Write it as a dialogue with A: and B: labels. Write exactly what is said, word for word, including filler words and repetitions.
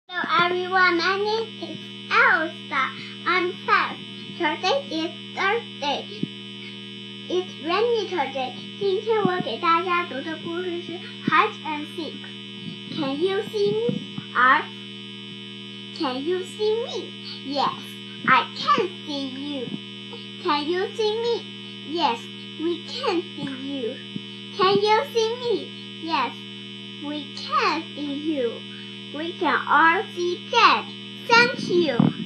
A: Hello everyone, my name is Elsa. I'm five. Today is Thursday. It's rainy today. 今天我给大家读的故事是 Hide and Seek. Can you see me? R. Can you see me? Yes, I can see you. Can you see me? Yes, we can see you. Can you see me? Yes, we can see you. We can all see that. Thank you.